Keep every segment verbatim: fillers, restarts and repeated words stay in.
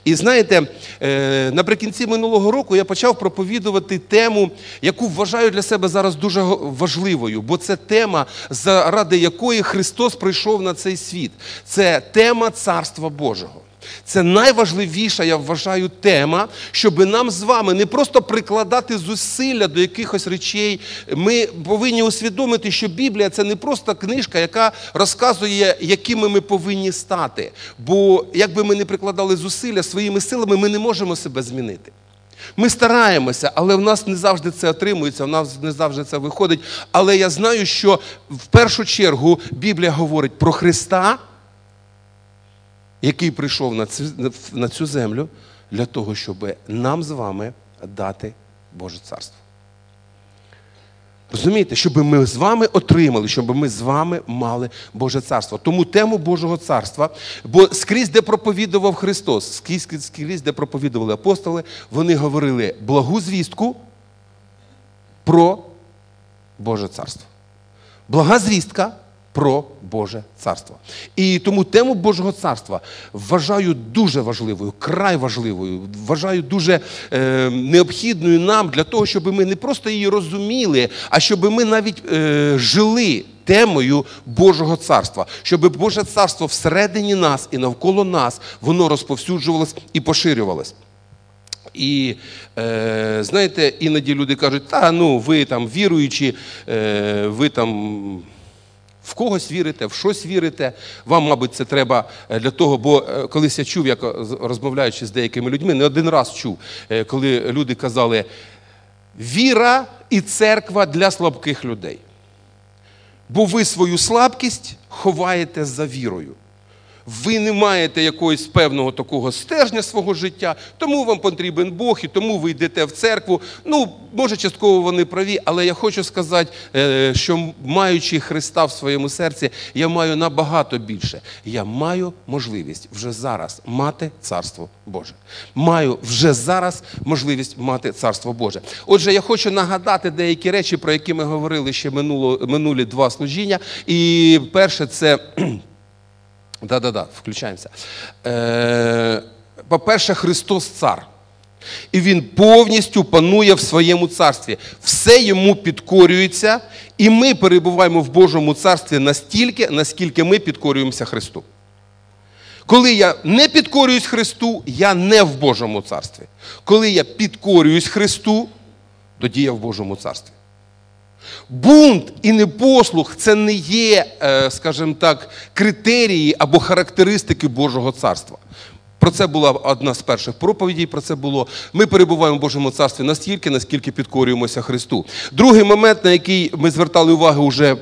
І знаєте, наприкінці минулого року я почав проповідувати тему, яку вважаю для себе зараз дуже важливою, бо це тема, заради якої Христос прийшов на цей світ. Це тема Царства Божого. Це найважливіша, я вважаю, тема, щоб нам з вами не просто прикладати зусилля до якихось речей. Ми повинні усвідомити, що Біблія – це не просто книжка, яка розказує, якими ми повинні стати. Бо якби ми не прикладали зусилля своїми силами, ми не можемо себе змінити. Ми стараємося, але в нас не завжди це отримується, в нас не завжди це виходить. Але я знаю, що в першу чергу Біблія говорить про Христа, який прийшов на цю, на цю землю для того, щоб нам з вами дати Боже Царство. Розумієте? Щоб ми з вами отримали, щоб ми з вами мали Боже Царство. Тому тему Божого Царства, бо скрізь, де проповідував Христос, скрізь, скрізь де проповідували апостоли, вони говорили благу звістку про Боже Царство. Блага звістка про Боже Царство. І тому тему Божого Царства вважаю дуже важливою, край важливою, вважаю дуже е, необхідною нам для того, щоб ми не просто її розуміли, а щоб ми навіть е, жили темою Божого Царства. Щоб Боже Царство всередині нас і навколо нас, воно розповсюджувалось і поширювалось. І, е, знаєте, іноді люди кажуть, та, ну, ви там віруючі, е, ви там в когось вірите, в щось вірите, вам, мабуть, це треба для того, бо колись я чув, як розмовляючи з деякими людьми, не один раз чув, коли люди казали, віра і церква для слабких людей. Бо ви свою слабкість ховаєте за вірою. Ви не маєте якогось певного такого стержня свого життя, тому вам потрібен Бог, і тому ви йдете в церкву. Ну, може, частково вони праві, але я хочу сказати, що маючи Христа в своєму серці, я маю набагато більше. Я маю можливість вже зараз мати Царство Боже. Маю вже зараз можливість мати Царство Боже. Отже, я хочу нагадати деякі речі, про які ми говорили ще минуло, минулі два служіння. І перше – це... Да-да-да, включаємося. Е, по-перше, Христос цар. І Він повністю панує в своєму царстві. Все йому підкорюється, і ми перебуваємо в Божому царстві настільки, наскільки ми підкорюємося Христу. Коли я не підкорююсь Христу, я не в Божому царстві. Коли я підкорююсь Христу, тоді я в Божому царстві. Бунт і непослух – це не є, скажімо так, критерії або характеристики Божого царства. Про це була одна з перших проповідей, про це було. Ми перебуваємо в Божому царстві настільки, наскільки підкорюємося Христу. Другий момент, на який ми звертали увагу вже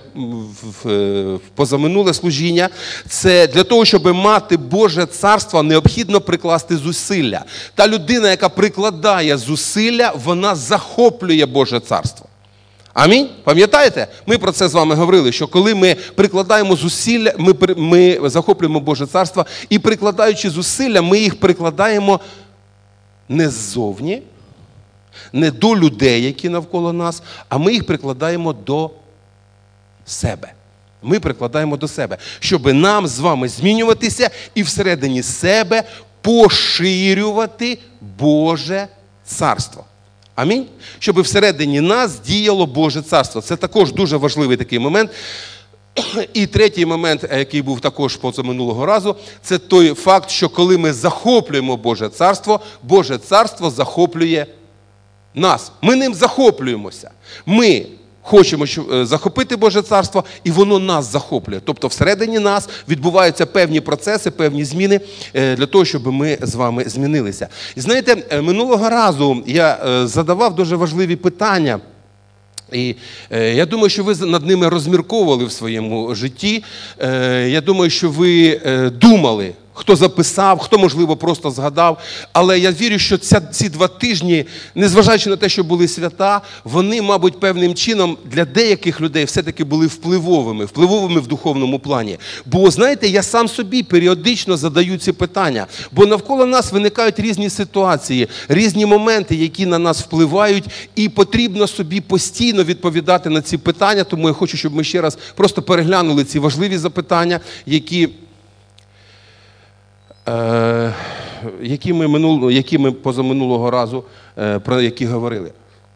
в позаминуле служіння, це для того, щоб мати Боже царство, необхідно прикласти зусилля. Та людина, яка прикладає зусилля, вона захоплює Боже царство. Амінь? Пам'ятаєте? Ми про це з вами говорили, що коли ми прикладаємо зусилля, ми, ми захоплюємо Боже царство, і прикладаючи зусилля, ми їх прикладаємо не ззовні, не до людей, які навколо нас, а ми їх прикладаємо до себе. Ми прикладаємо до себе, щоб нам з вами змінюватися і всередині себе поширювати Боже царство. Амінь? Щоб всередині нас діяло Боже царство. Це також дуже важливий такий момент. І третій момент, який був також позаминулого разу, це той факт, що коли ми захоплюємо Боже царство, Боже царство захоплює нас. Ми ним захоплюємося. Ми хочемо захопити Боже царство, і воно нас захоплює. Тобто всередині нас відбуваються певні процеси, певні зміни для того, щоб ми з вами змінилися. І знаєте, минулого разу я задавав дуже важливі питання, і я думаю, що ви над ними розмірковували в своєму житті. Я думаю, що ви думали, хто записав, хто, можливо, просто згадав. Але я вірю, що ця, ці два тижні, незважаючи на те, що були свята, вони, мабуть, певним чином для деяких людей все-таки були впливовими, впливовими в духовному плані. Бо, знаєте, я сам собі періодично задаю ці питання. Бо навколо нас виникають різні ситуації, різні моменти, які на нас впливають, і потрібно собі постійно відповідати на ці питання. Тому я хочу, щоб ми ще раз просто переглянули ці важливі запитання, які... е, які ми, минул, які ми позаминулого разу, е, про які говорили.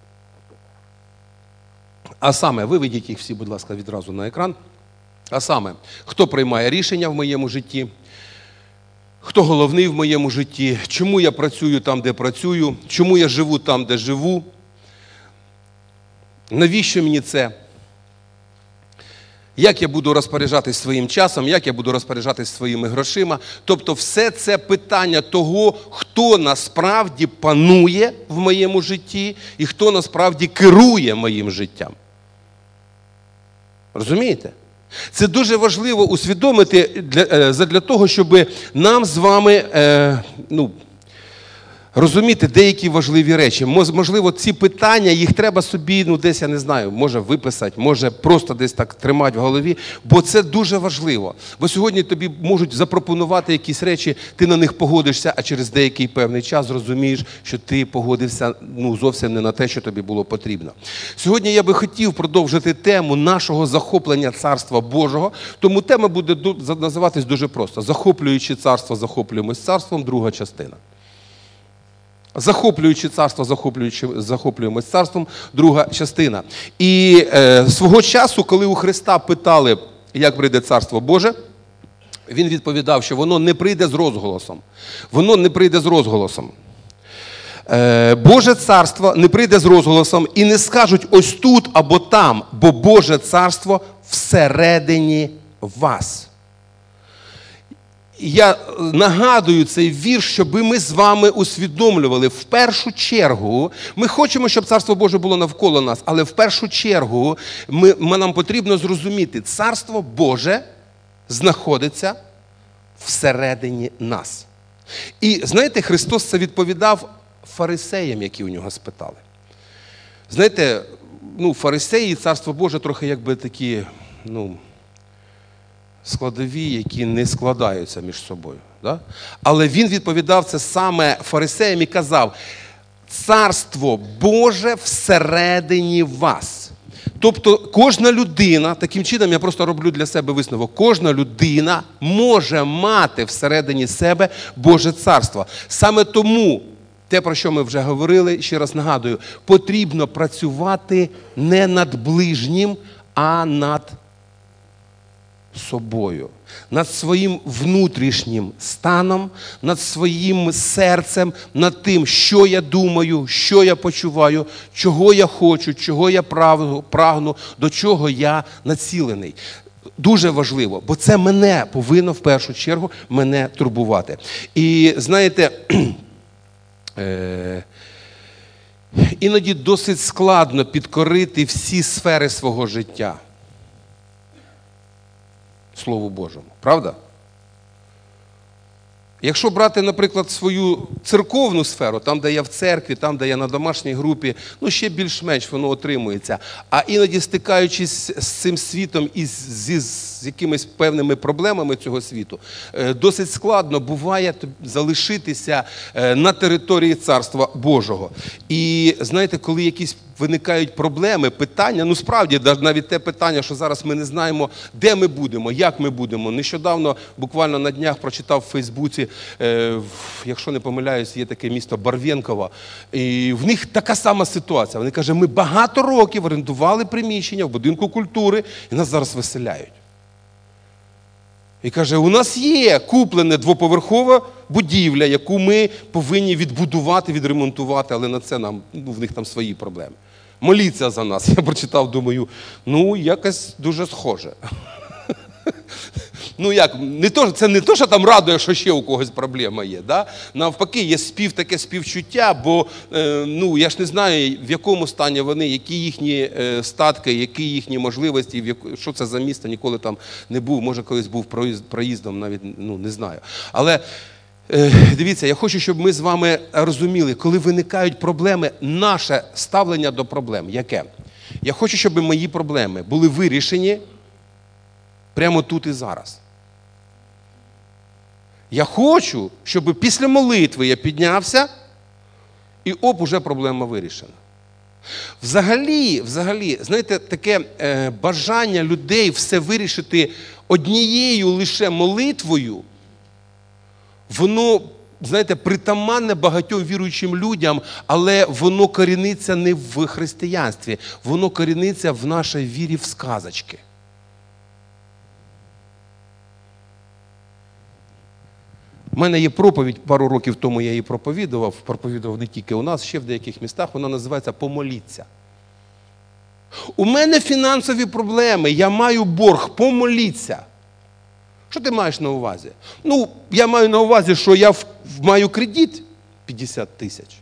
А саме, виведіть їх всі, будь ласка, відразу на екран. А саме, хто приймає рішення в моєму житті, хто головний в моєму житті, чому я працюю там, де працюю, чому я живу там, де живу, навіщо мені це, як я буду розпоряджатись своїм часом, як я буду розпоряджатись своїми грошима. Тобто все це питання того, хто насправді панує в моєму житті і хто насправді керує моїм життям. Розумієте? Це дуже важливо усвідомити для, для того, щоб нам з вами е, ну, розуміти деякі важливі речі. Можливо, ці питання, їх треба собі, ну десь, я не знаю, може виписати, може просто десь так тримати в голові, бо це дуже важливо. Бо сьогодні тобі можуть запропонувати якісь речі, ти на них погодишся, а через деякий певний час зрозумієш, що ти погодився ну, зовсім не на те, що тобі було потрібно. Сьогодні я би хотів продовжити тему нашого захоплення Царства Божого, тому тема буде називатись дуже просто. Захоплюючи царство, захоплюємось царством, друга частина. Захоплюючи царство, захоплюючи, захоплюємось царством, друга частина. І е, свого часу, коли у Христа питали, як прийде Царство Боже, він відповідав, що воно не прийде з розголосом. Воно не прийде з розголосом. Е, Боже царство не прийде з розголосом і не скажуть ось тут або там, бо Боже царство всередині вас. Я нагадую цей вірш, щоб ми з вами усвідомлювали. В першу чергу, ми хочемо, щоб Царство Боже було навколо нас, але в першу чергу ми, ми, нам потрібно зрозуміти, Царство Боже знаходиться всередині нас. І, знаєте, Христос це відповідав фарисеям, які у нього спитали. Знаєте, ну, фарисеї і Царство Боже трохи якби такі, ну... складові, які не складаються між собою. Да? Але він відповідав це саме фарисеям і казав, Царство Боже всередині вас. Тобто кожна людина, таким чином я просто роблю для себе висновок, кожна людина може мати всередині себе Боже Царство. Саме тому, те, про що ми вже говорили, ще раз нагадую, потрібно працювати не над ближнім, а над собою, над своїм внутрішнім станом, над своїм серцем, над тим, що я думаю, що я почуваю, чого я хочу, чого я прагну, до чого я націлений. Дуже важливо, бо це мене повинно в першу чергу мене турбувати. І знаєте, е- іноді досить складно підкорити всі сфери свого життя Слову Божому. Правда? Якщо брати, наприклад, свою церковну сферу, там, де я в церкві, там, де я на домашній групі, ну, ще більш-менш воно отримується. А іноді, стикаючись з цим світом і з, з якимись певними проблемами цього світу, досить складно буває залишитися на території Царства Божого. І, знаєте, коли якісь виникають проблеми, питання, ну, справді, навіть те питання, що зараз ми не знаємо, де ми будемо, як ми будемо. Нещодавно, буквально на днях, прочитав в Фейсбуці, е, якщо не помиляюсь, є таке місто Барвінково, і в них така сама ситуація. Вони кажуть, ми багато років орендували приміщення в будинку культури, і нас зараз виселяють. І каже, у нас є куплена двоповерхова будівля, яку ми повинні відбудувати, відремонтувати, але на це нам, ну, в них там свої проблеми. Моліться за нас. Я прочитав, думаю, ну, якось дуже схоже. Ну як, не то, це не то, що там радує, що ще у когось проблема є. Да? Навпаки, є спів, таке співчуття, бо е, ну, я ж не знаю, в якому стані вони, які їхні е, статки, які їхні можливості, в яку, що це за місто, ніколи там не був, може колись був проїздом, навіть ну, не знаю. Але е, дивіться, я хочу, щоб ми з вами розуміли, коли виникають проблеми, наше ставлення до проблем, яке? Я хочу, щоб мої проблеми були вирішені прямо тут і зараз. Я хочу, щоб після молитви я піднявся, і оп, уже проблема вирішена. Взагалі, взагалі, знаєте, таке е, бажання людей все вирішити однією лише молитвою, воно, знаєте, притаманне багатьом віруючим людям, але воно коріниться не в християнстві, воно коріниться в нашій вірі в сказочки. У мене є проповідь, пару років тому я її проповідував, проповідував не тільки у нас, ще в деяких містах, вона називається «Помоліться». У мене фінансові проблеми, я маю борг, помоліться. Що ти маєш на увазі? Ну, я маю на увазі, що я в, маю кредит п'ятдесят тисяч.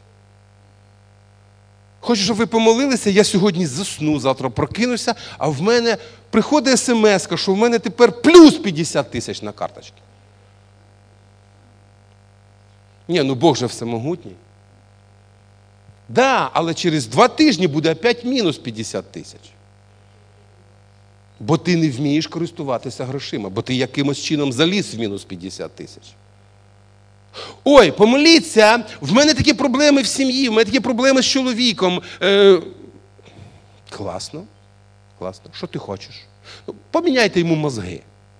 Хочу, щоб ви помолилися, я сьогодні засну, завтра прокинуся, а в мене приходить смс-ка, що в мене тепер плюс п'ятдесят тисяч на карточці. Ні, ну Бог же всемогутній. Да, але через два тижні буде опять мінус п'ятдесят тисяч. Бо ти не вмієш користуватися грошима, бо ти якимось чином заліз в мінус п'ятдесят тисяч. Ой, помоліться, в мене такі проблеми в сім'ї, в мене такі проблеми з чоловіком. Е, класно, класно. Що ти хочеш? Поміняйте йому мозги.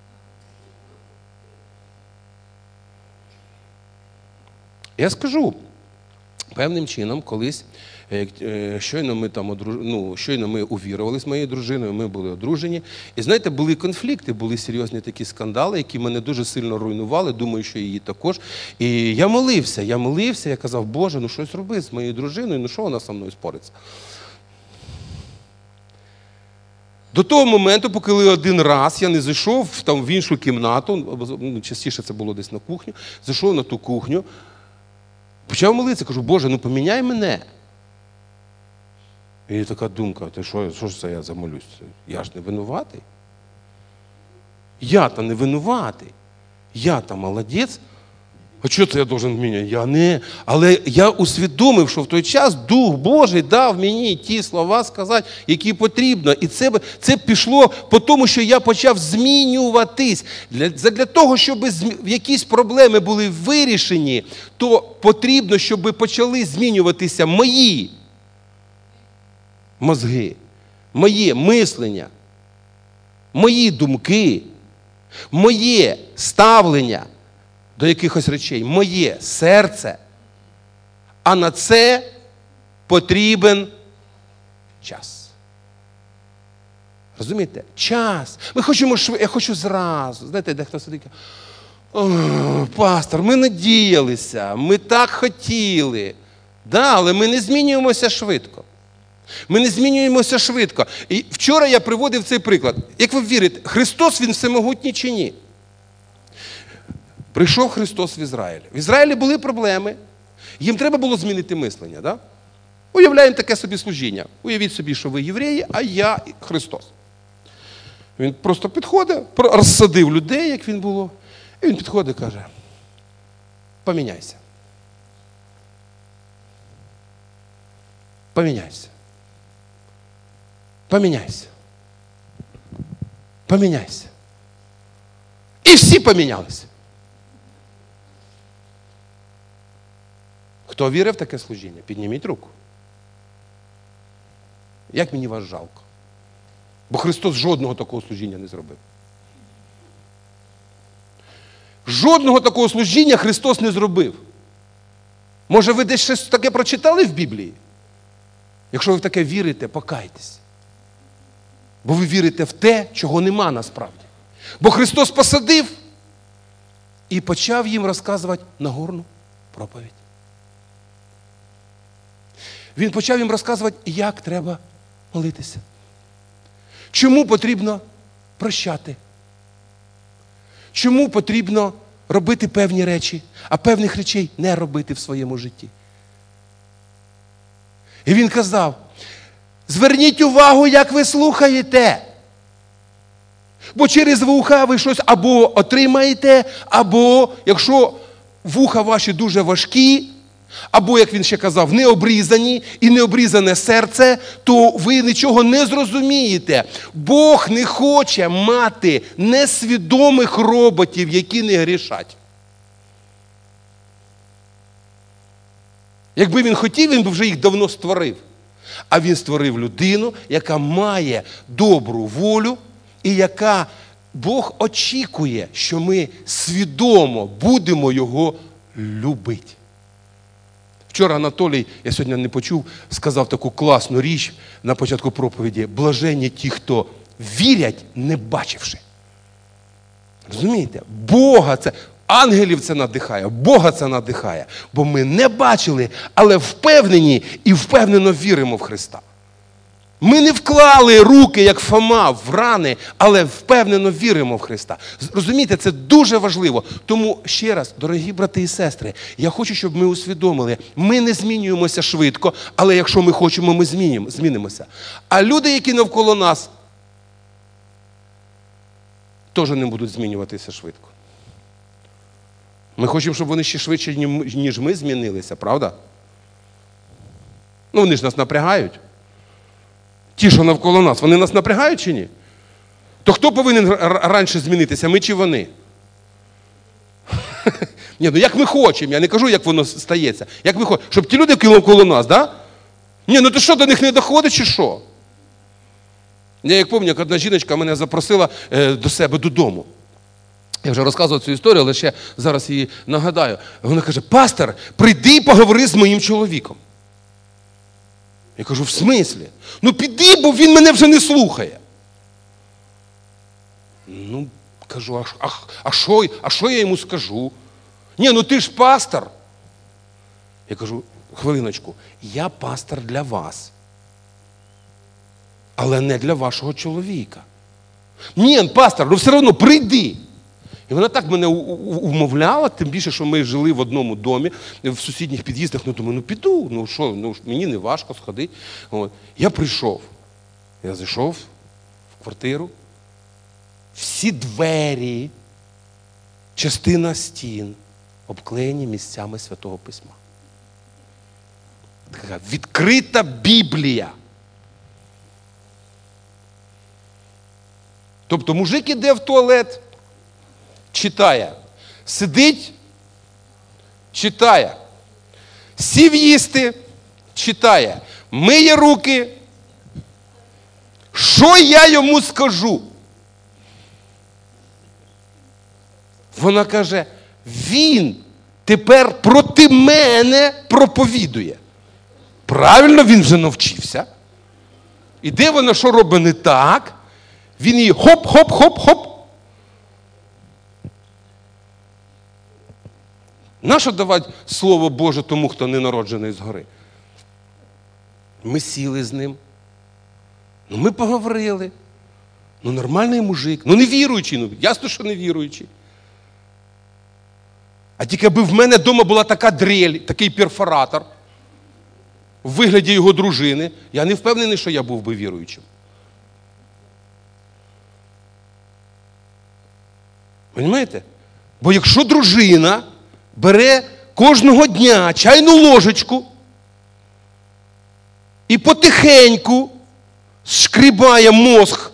Я скажу, певним чином, колись, щойно ми, там, ну, щойно ми увірували з моєю дружиною, ми були одружені. І знаєте, були конфлікти, були серйозні такі скандали, які мене дуже сильно руйнували, думаю, що її також. І я молився, я молився, я казав, Боже, ну щось роби з моєю дружиною, ну що вона зі мною спориться? До того моменту, поки один раз я не зайшов там, в іншу кімнату, ну, частіше це було десь на кухню, зайшов на ту кухню, почав молитися, кажу, Боже, ну поміняй мене. І така думка, ти що, що ж це я замолюсь? Я ж не винуватий. Я-то не винуватий. Я-то молодець. А що це я должен міняти? Я не. Але я усвідомив, що в той час Дух Божий дав мені ті слова сказати, які потрібно. І це, це пішло по тому, що я почав змінюватись. Для, для того, щоб якісь проблеми були вирішені, то потрібно, щоб почали змінюватися мої мозги, моє мислення, мої думки, моє ставлення до якихось речей, моє серце, а на це потрібен час. Розумієте? Час. Ми хочемо швидко, я хочу зразу. Знаєте, дехто сидить, о, пастор, ми надіялися, ми так хотіли. Да, але ми не змінюємося швидко. Ми не змінюємося швидко. І вчора я приводив цей приклад. Як ви вірите, Христос, Він всемогутній чи ні? Прийшов Христос в Ізраїль. В Ізраїлі були проблеми. Їм треба було змінити мислення. Да? Уявляємо таке собі служіння. Уявіть собі, що ви євреї, а я Христос. Він просто підходить, розсадив людей, як він було. І він підходить і каже, поміняйся. Поміняйся. Поміняйся. Поміняйся. І всі помінялися. Хто вірив в таке служіння? Підніміть руку. Як мені вас жалко. Бо Христос жодного такого служіння не зробив. Жодного такого служіння Христос не зробив. Може, ви десь щось таке прочитали в Біблії? Якщо ви в таке вірите, покайтесь. Бо ви вірите в те, чого нема насправді. Бо Христос посадив і почав їм розказувати Нагорну проповідь. Він почав їм розказувати, як треба молитися. Чому потрібно прощати. Чому потрібно робити певні речі, а певних речей не робити в своєму житті. І він казав, зверніть увагу, як ви слухаєте. Бо через вуха ви щось або отримаєте, або, якщо вуха ваші дуже важкі, або, як він ще казав, не обрізані і не обрізане серце, то ви нічого не зрозумієте. Бог не хоче мати несвідомих роботів, які не грішать. Якби він хотів, він б вже їх давно створив. А він створив людину, яка має добру волю і яка Бог очікує, що ми свідомо будемо Його любити. Вчора Анатолій, я сьогодні не почув, сказав таку класну річ на початку проповіді. Блаженні ті, хто вірять, не бачивши. Розумієте? Бога це, ангелів це надихає, Бога це надихає. Бо ми не бачили, але впевнені і впевнено віримо в Христа. Ми не вклали руки, як Фома, в рани, але впевнено віримо в Христа. Розумієте, це дуже важливо. Тому ще раз, дорогі брати і сестри, я хочу, щоб ми усвідомили, ми не змінюємося швидко, але якщо ми хочемо, ми змінимо, змінимося. А люди, які навколо нас, теж не будуть змінюватися швидко. Ми хочемо, щоб вони ще швидше, ніж ми, змінилися, правда? Ну, вони ж нас напрягають. Ті, що навколо нас, вони нас напрягають чи ні? То хто повинен раніше змінитися, ми чи вони? Ні, ну як ми хочемо, я не кажу, як воно стається. Як ми хочемо, щоб ті люди, які навколо нас, да? Ні, ну то що, до них не доходить чи що? Я як пам'ятаю, як одна жіночка мене запросила е, до себе додому. Я вже розказував цю історію, але ще зараз її нагадаю. Вона каже: пастор, прийди і поговори з моїм чоловіком. Я кажу: в смислі? Ну піди, бо він мене вже не слухає. Ну, кажу, а, а, а, що, а що я йому скажу? Ні, ну ти ж пастор. Я кажу: хвилиночку, я пастор для вас, але не для вашого чоловіка. Ні, пастор, ну все одно прийди. І вона так мене умовляла, тим більше, що ми жили в одному домі, в сусідніх під'їздах. Ну, думаю, ну піду, ну що, ну мені не важко сходити. От. Я прийшов, я зайшов в квартиру, всі двері, частина стін обклеєні місцями Святого Письма. Така відкрита Біблія. Тобто мужик іде в туалет, читає. Сидить, читає. Сів їсти, читає. Миє руки. Що я йому скажу? Вона каже: він тепер проти мене проповідує. Правильно, він вже навчився. І де вона що робить не так? Він її хоп-хоп-хоп-хоп. Нащо давати Слово Боже тому, хто не народжений згори? Ми сіли з ним. Ну, ми поговорили. Ну, нормальний мужик. Ну, не віруючий. Ну, ясно, що не віруючий. А тільки аби в мене вдома була така дрель, такий перфоратор, в вигляді його дружини, я не впевнений, що я був би віруючим. Понімаєте? Бо якщо дружина бере кожного дня чайну ложечку і потихеньку шкрібає мозг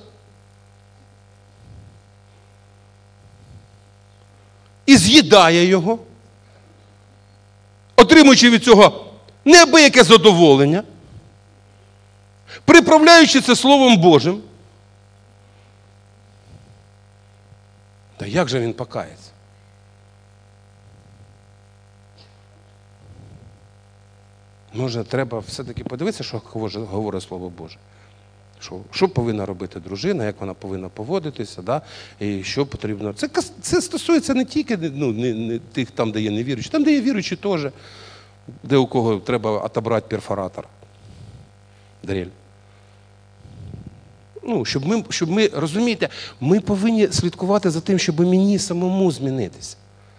і з'їдає його, отримуючи від цього неабияке задоволення, приправляючи це Словом Божим, та як же він покається? Може, треба все-таки подивитися, що говорить Слово Боже. Що, що повинна робити дружина, як вона повинна поводитися, да? І що потрібно. Це, це стосується не тільки ну, не, не тих, там, де є невіруючі, там, де є віруючі теж, де у кого треба отобрати перфоратор, дрель. Ну, щоб ми, щоб ми, розумієте, ми повинні слідкувати за тим, щоб мені самому змінитися.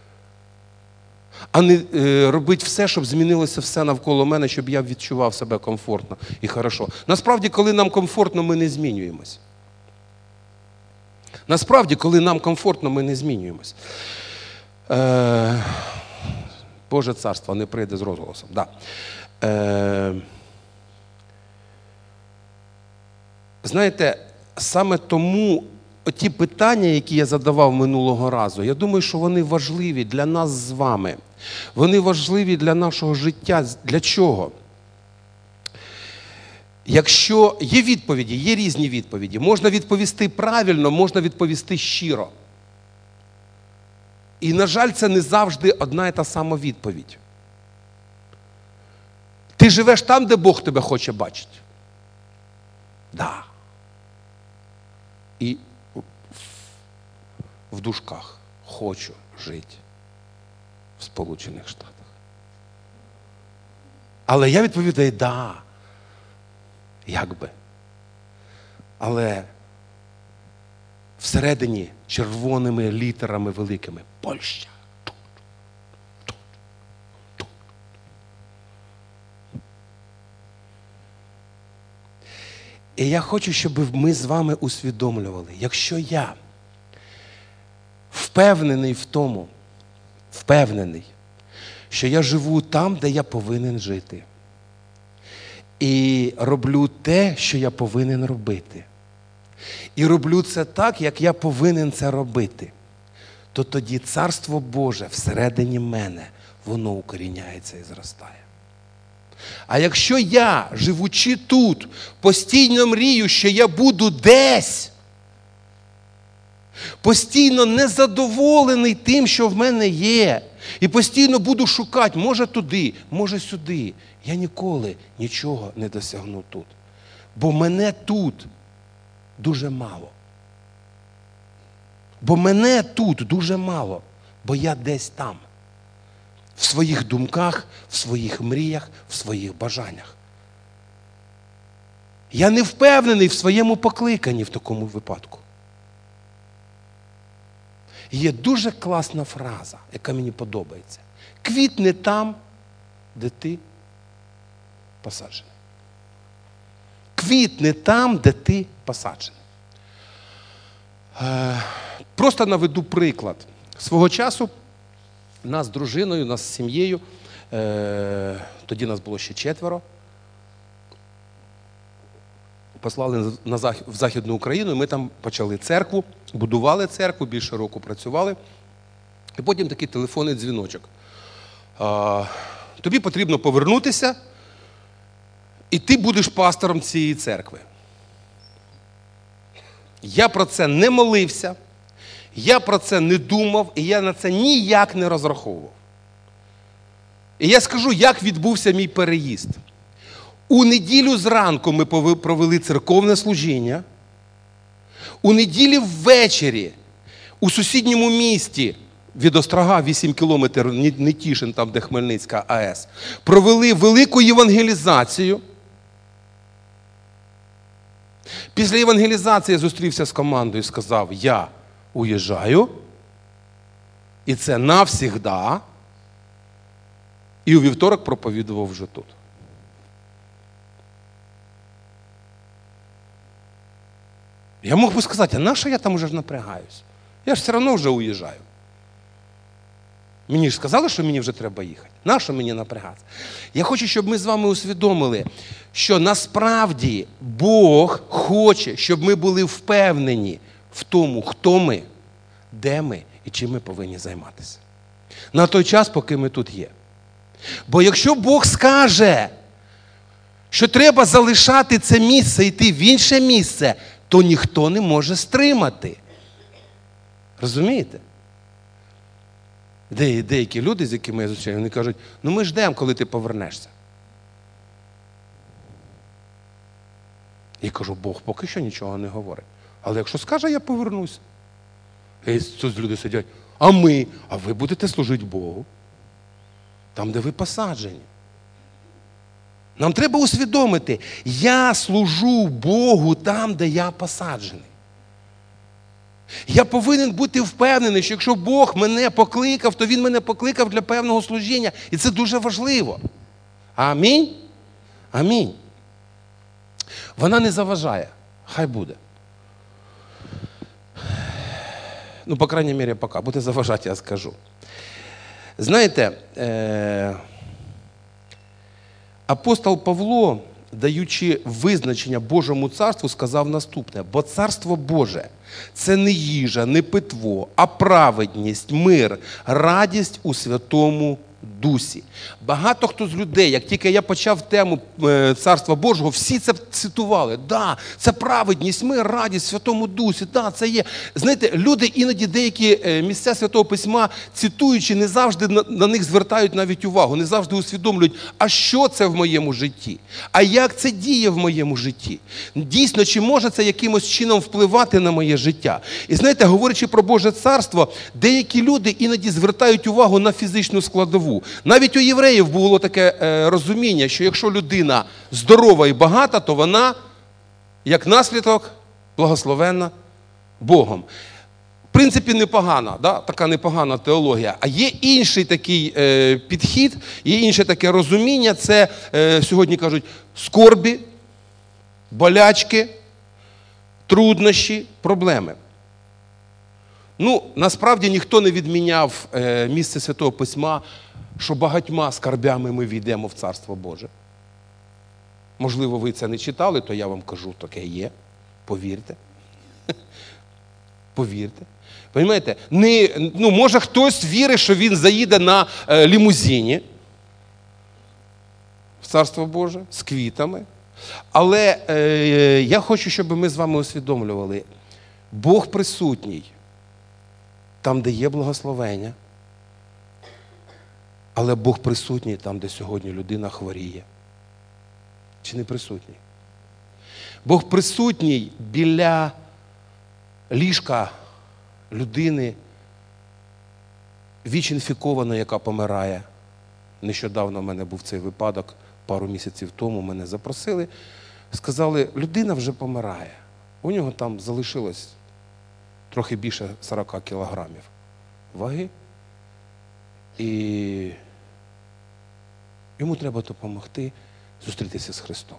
А не е, робити все, щоб змінилося все навколо мене, щоб я відчував себе комфортно і хорошо. Насправді, коли нам комфортно, ми не змінюємось. Насправді, коли нам комфортно, ми не змінюємось. Е, Боже царство не прийде з розголосом. Да. Е, знаєте, саме тому ті питання, які я задавав минулого разу, я думаю, що вони важливі для нас з вами. Вони важливі для нашого життя. Для чого? Якщо є відповіді, є різні відповіді. Можна відповісти правильно, можна відповісти щиро. І, на жаль, це не завжди одна і та сама відповідь. Ти живеш там, де Бог тебе хоче бачити? Да. І в дужках хочу жити в Сполучених Штатах. Але я відповідаю, да. Як би. Але всередині червоними літерами великими Польща. І я хочу, щоб ми з вами усвідомлювали, якщо я впевнений в тому, впевнений, що я живу там, де я повинен жити, і роблю те, що я повинен робити, і роблю це так, як я повинен це робити, то тоді Царство Боже всередині мене, воно укоріняється і зростає. А якщо я, живучи тут, постійно мрію, що я буду десь, постійно незадоволений тим, що в мене є, і постійно буду шукати, може туди, може сюди, я ніколи нічого не досягну тут. Бо мене тут дуже мало. Бо мене тут дуже мало, бо я десь там. В своїх думках, в своїх мріях, в своїх бажаннях. Я не впевнений в своєму покликанні в такому випадку. Є дуже класна фраза, яка мені подобається. Квітне там, де ти посаджений. Квітне там, де ти посаджений. Е, просто наведу приклад. Свого часу нас з дружиною, нас з сім'єю, е, тоді нас було ще четверо, послали на Захід, в Західну Україну, і ми там почали церкву, будували церкву, більше року працювали. І потім такий телефонний дзвіночок. Е, тобі потрібно повернутися, і ти будеш пастором цієї церкви. Я про це не молився, я про це не думав, і я на це ніяк не розраховував. І я скажу, як відбувся мій переїзд. У неділю зранку ми провели церковне служіння. У неділю ввечері у сусідньому місті від Острога, вісім кілометрів, Нетішин, там, де Хмельницька АЕС, провели велику євангелізацію. Після євангелізації я зустрівся з командою і сказав, я уїжджаю, і це навсігда, і у вівторок проповідував вже тут. Я мог би сказати, а на що я там уже напрягаюсь? Я ж все одно вже уїжджаю. Мені ж сказали, що мені вже треба їхати. На що мені напрягатися? Я хочу, щоб ми з вами усвідомили, що насправді Бог хоче, щоб ми були впевнені в тому, хто ми, де ми і чим ми повинні займатися. На той час, поки ми тут є. Бо якщо Бог скаже, що треба залишати це місце і йти в інше місце, то ніхто не може стримати. Розумієте? Де, деякі люди, з якими я зустрічаю, вони кажуть, ну ми ждемо, коли ти повернешся. Я кажу, Бог поки що нічого не говорить. Але якщо скаже, я повернусь. І тут люди сидять, а ми, а ви будете служити Богу. Там, де ви посаджені. Нам треба усвідомити, я служу Богу там, де я посаджений. Я повинен бути впевнений, що якщо Бог мене покликав, то Він мене покликав для певного служіння. І це дуже важливо. Амінь? Амінь. Вона не заважає. Хай буде. Ну, по крайній мірі, поки. Буде заважати, я скажу. Знаєте, е- апостол Павло, даючи визначення Божому царству, сказав наступне. Бо царство Боже – це не їжа, не питво, а праведність, мир, радість у Святому дусі. Багато хто з людей, як тільки я почав тему Царства Божого, всі це цитували. Да, це праведність, мир, радість в Святому Дусі, да, це є. Знаєте, люди іноді деякі місця Святого Письма, цитуючи, не завжди на, на них звертають навіть увагу, не завжди усвідомлюють, а що це в моєму житті? А як це діє в моєму житті? Дійсно, чи може це якимось чином впливати на моє життя? І знаєте, говорячи про Боже Царство, деякі люди іноді звертають увагу на фізичну складову. Навіть у євреїв було таке е, розуміння, що якщо людина здорова і багата, то вона, як наслідок, благословенна Богом. В принципі, непогана, да? Така непогана теологія. А є інший такий е, підхід, є інше таке розуміння, це, е, сьогодні кажуть, скорбі, болячки, труднощі, проблеми. Ну, насправді ніхто не відміняв е, місце Святого Письма, що багатьма скарбями ми війдемо в Царство Боже. Можливо, ви це не читали, то я вам кажу, таке є. Повірте. Повірте. Понимаєте? Не, ну, може хтось вірить, що він заїде на е, лімузині в Царство Боже з квітами. Але е, я хочу, щоб ми з вами усвідомлювали, Бог присутній там, де є благословення, але Бог присутній там, де сьогодні людина хворіє. Чи не присутній? Бог присутній біля ліжка людини, віч-інфікованої, яка помирає. Нещодавно в мене був цей випадок, пару місяців тому мене запросили, сказали, людина вже помирає. У нього там залишилось трохи більше сорок кілограмів ваги. І йому треба допомогти зустрітися з Христом.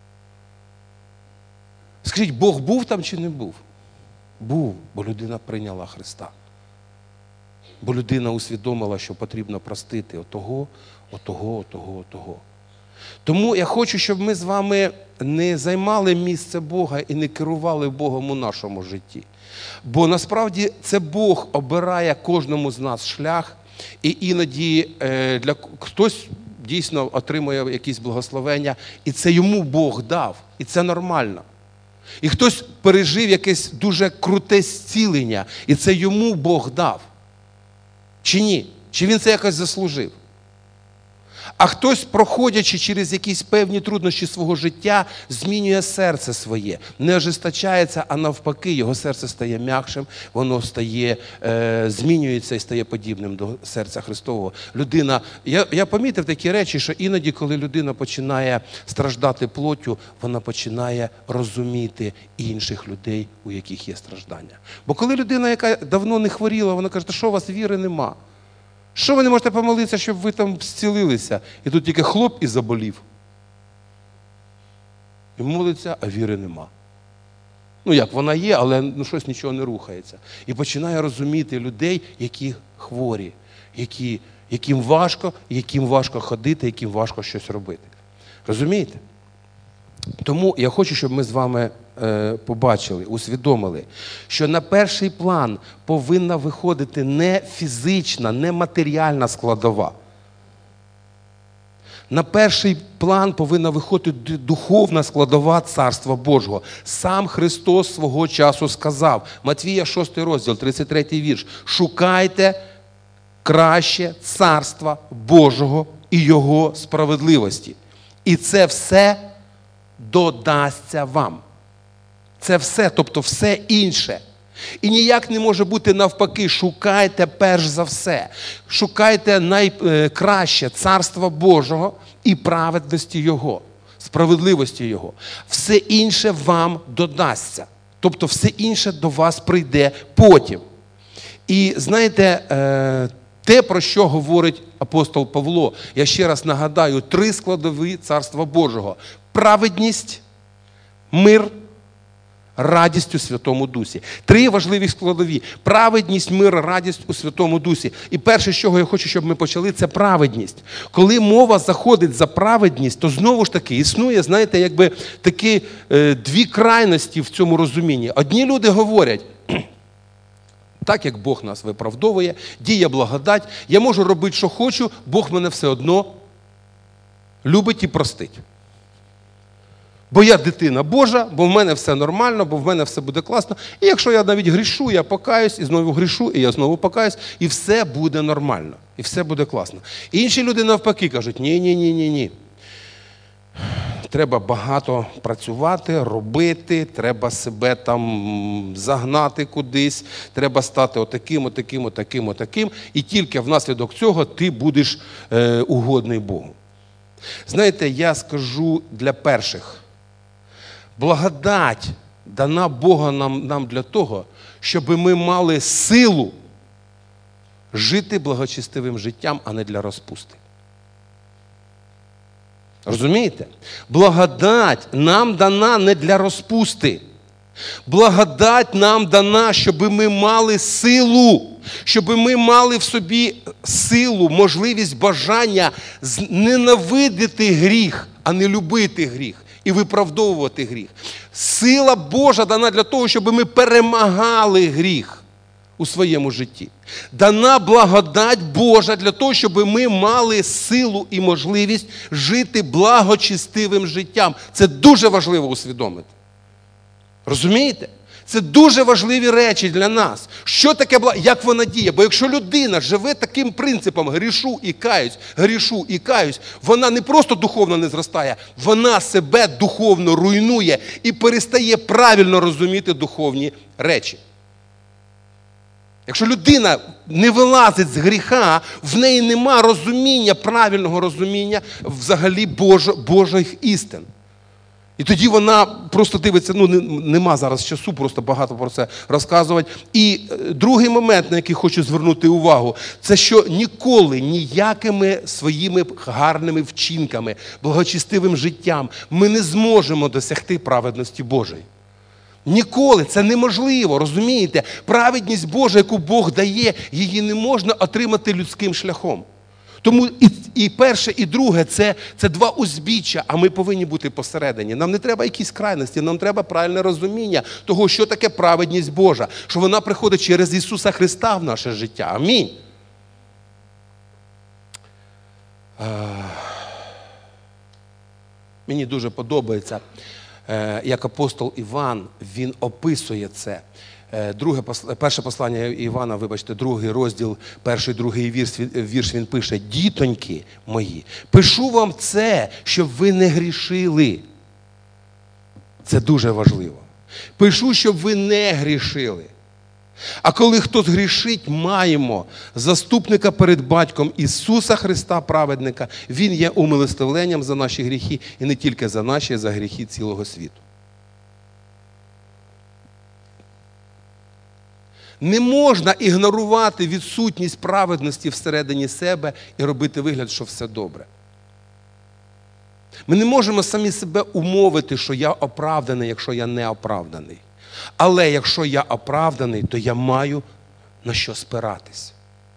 Скажіть, Бог був там чи не був? Був, бо людина прийняла Христа. Бо людина усвідомила, що потрібно простити отого, отого, отого, отого. Тому я хочу, щоб ми з вами не займали місце Бога і не керували Богом у нашому житті. Бо насправді це Бог обирає кожному з нас шлях, і іноді е, для хтось дійсно отримує якісь благословення, і це йому Бог дав, і це нормально. І хтось пережив якесь дуже круте зцілення, і це йому Бог дав. Чи ні? Чи він це якось заслужив? А хтось, проходячи через якісь певні труднощі свого життя, змінює серце своє. Не ожесточається, а навпаки, його серце стає м'якшим, воно стає, е, змінюється і стає подібним до серця Христового. Людина, я, я помітив такі речі, що іноді, коли людина починає страждати плоттю, вона починає розуміти інших людей, у яких є страждання. Бо коли людина, яка давно не хворіла, вона каже, що у вас віри нема? Що ви не можете помолитися, щоб ви там зцілилися? І тут тільки хлоп і заболів. І молиться, а віри нема. Ну як, вона є, але ну, щось нічого не рухається. І починає розуміти людей, які хворі, які, яким важко, яким важко ходити, яким важко щось робити. Розумієте? Тому я хочу, щоб ми з вами е, побачили, усвідомили, що на перший план повинна виходити не фізична, не матеріальна складова. На перший план повинна виходити духовна складова Царства Божого. Сам Христос свого часу сказав, Матвія шостий розділ, тридцять третій вірш, «Шукайте краще Царства Божого і Його справедливості. І це все додасться вам». Це все, тобто все інше. І ніяк не може бути навпаки, шукайте перш за все. Шукайте найкраще Царства Божого і праведності Його, справедливості Його. Все інше вам додасться. Тобто все інше до вас прийде потім. І знаєте, те, про що говорить апостол Павло, я ще раз нагадаю, три складові Царства Божого. Праведність, мир, радість у Святому Дусі. Три важливі складові. Праведність, мир, радість у Святому Дусі. І перше, з чого я хочу, щоб ми почали, це праведність. Коли мова заходить за праведність, то знову ж таки існує, знаєте, якби такі е, дві крайності в цьому розумінні. Одні люди говорять, Так, як Бог нас виправдовує, діє благодать, я можу робити, що хочу, Бог мене все одно любить і простить. Бо я дитина Божа, бо в мене все нормально, бо в мене все буде класно. І якщо я навіть грішу, я покаюсь, і знову грішу, і я знову покаюсь, і все буде нормально, і все буде класно. І інші люди навпаки кажуть, ні-ні-ні-ні-ні. Треба багато працювати, робити, треба себе там загнати кудись, треба стати отаким, отаким, отаким, отаким, і тільки внаслідок цього ти будеш е, угодний Богу. Знаєте, я скажу для перших, благодать дана Бога нам, нам для того, щоб ми мали силу жити благочестивим життям, а не для розпусти. Розумієте? Благодать нам дана не для розпусти. Благодать нам дана, щоб ми мали силу, щоб ми мали в собі силу, можливість, бажання ненавидити гріх, а не любити гріх і виправдовувати гріх. Сила Божа дана для того, щоб ми перемагали гріх у своєму житті. Дана благодать Божа для того, щоб ми мали силу і можливість жити благочестивим життям. Це дуже важливо усвідомити. Розумієте? Це дуже важливі речі для нас. Що таке благодать? Як вона діє? Бо якщо людина живе таким принципом грішу і каюсь, грішу і каюсь, вона не просто духовно не зростає, вона себе духовно руйнує і перестає правильно розуміти духовні речі. Якщо людина не вилазить з гріха, в неї нема розуміння, правильного розуміння взагалі Божо, Божих істин. І тоді вона просто дивиться, ну нема зараз часу просто багато про це розказувати. І другий момент, на який хочу звернути увагу, це що ніколи ніякими своїми гарними вчинками, благочестивим життям ми не зможемо досягти праведності Божої. Ніколи, це неможливо, розумієте? Праведність Божа, яку Бог дає, її не можна отримати людським шляхом. Тому і, і перше, і друге це, – це два узбіччя, а ми повинні бути посередині. Нам не треба якісь крайності, нам треба правильне розуміння того, що таке праведність Божа, що вона приходить через Ісуса Христа в наше життя. Амінь. Мені дуже подобається, як апостол Іван, він описує це. Друге, перше послання Івана, вибачте, другий розділ, перший, другий вірш, вірш він пише: «Дітоньки мої, пишу вам це, щоб ви не грішили». Це дуже важливо. Пишу, щоб ви не грішили. А коли хтось грішить, маємо заступника перед Батьком Ісуса Христа, праведника. Він є умилостивленням за наші гріхи, і не тільки за наші, а за гріхи цілого світу. Не можна ігнорувати відсутність праведності всередині себе і робити вигляд, що все добре. Ми не можемо самі себе умовити, що я оправданий, якщо я не оправданий. Але якщо я оправданий, то я маю на що спиратись.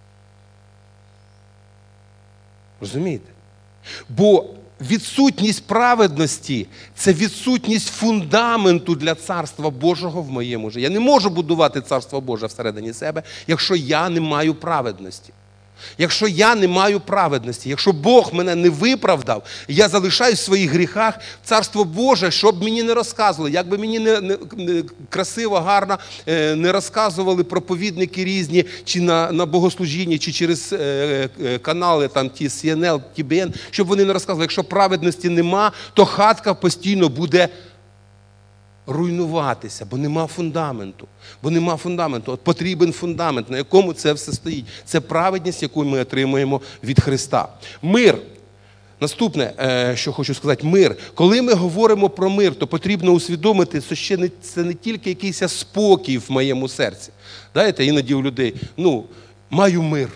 Розумієте? Бо відсутність праведності – це відсутність фундаменту для Царства Божого в моєму житті. Я не можу будувати Царство Боже всередині себе, якщо я не маю праведності. Якщо я не маю праведності, якщо Бог мене не виправдав, я залишаюсь в своїх гріхах, Царство Боже, щоб мені не розказували, як би мені не, не, не красиво, гарно не розказували проповідники різні, чи на, на богослужінні, чи через е, е, канали там, ті Сі Ен Ел, Ті Бі Ен, щоб вони не розказували, якщо праведності нема, то хатка постійно буде руйнуватися, бо нема фундаменту. Бо нема фундаменту. От потрібен фундамент, на якому це все стоїть. Це праведність, яку ми отримуємо від Христа. Мир. Наступне, що хочу сказати, мир. Коли ми говоримо про мир, то потрібно усвідомити, що ще не, це не тільки якийсь спокій в моєму серці. Знаєте, іноді у людей, ну, маю мир.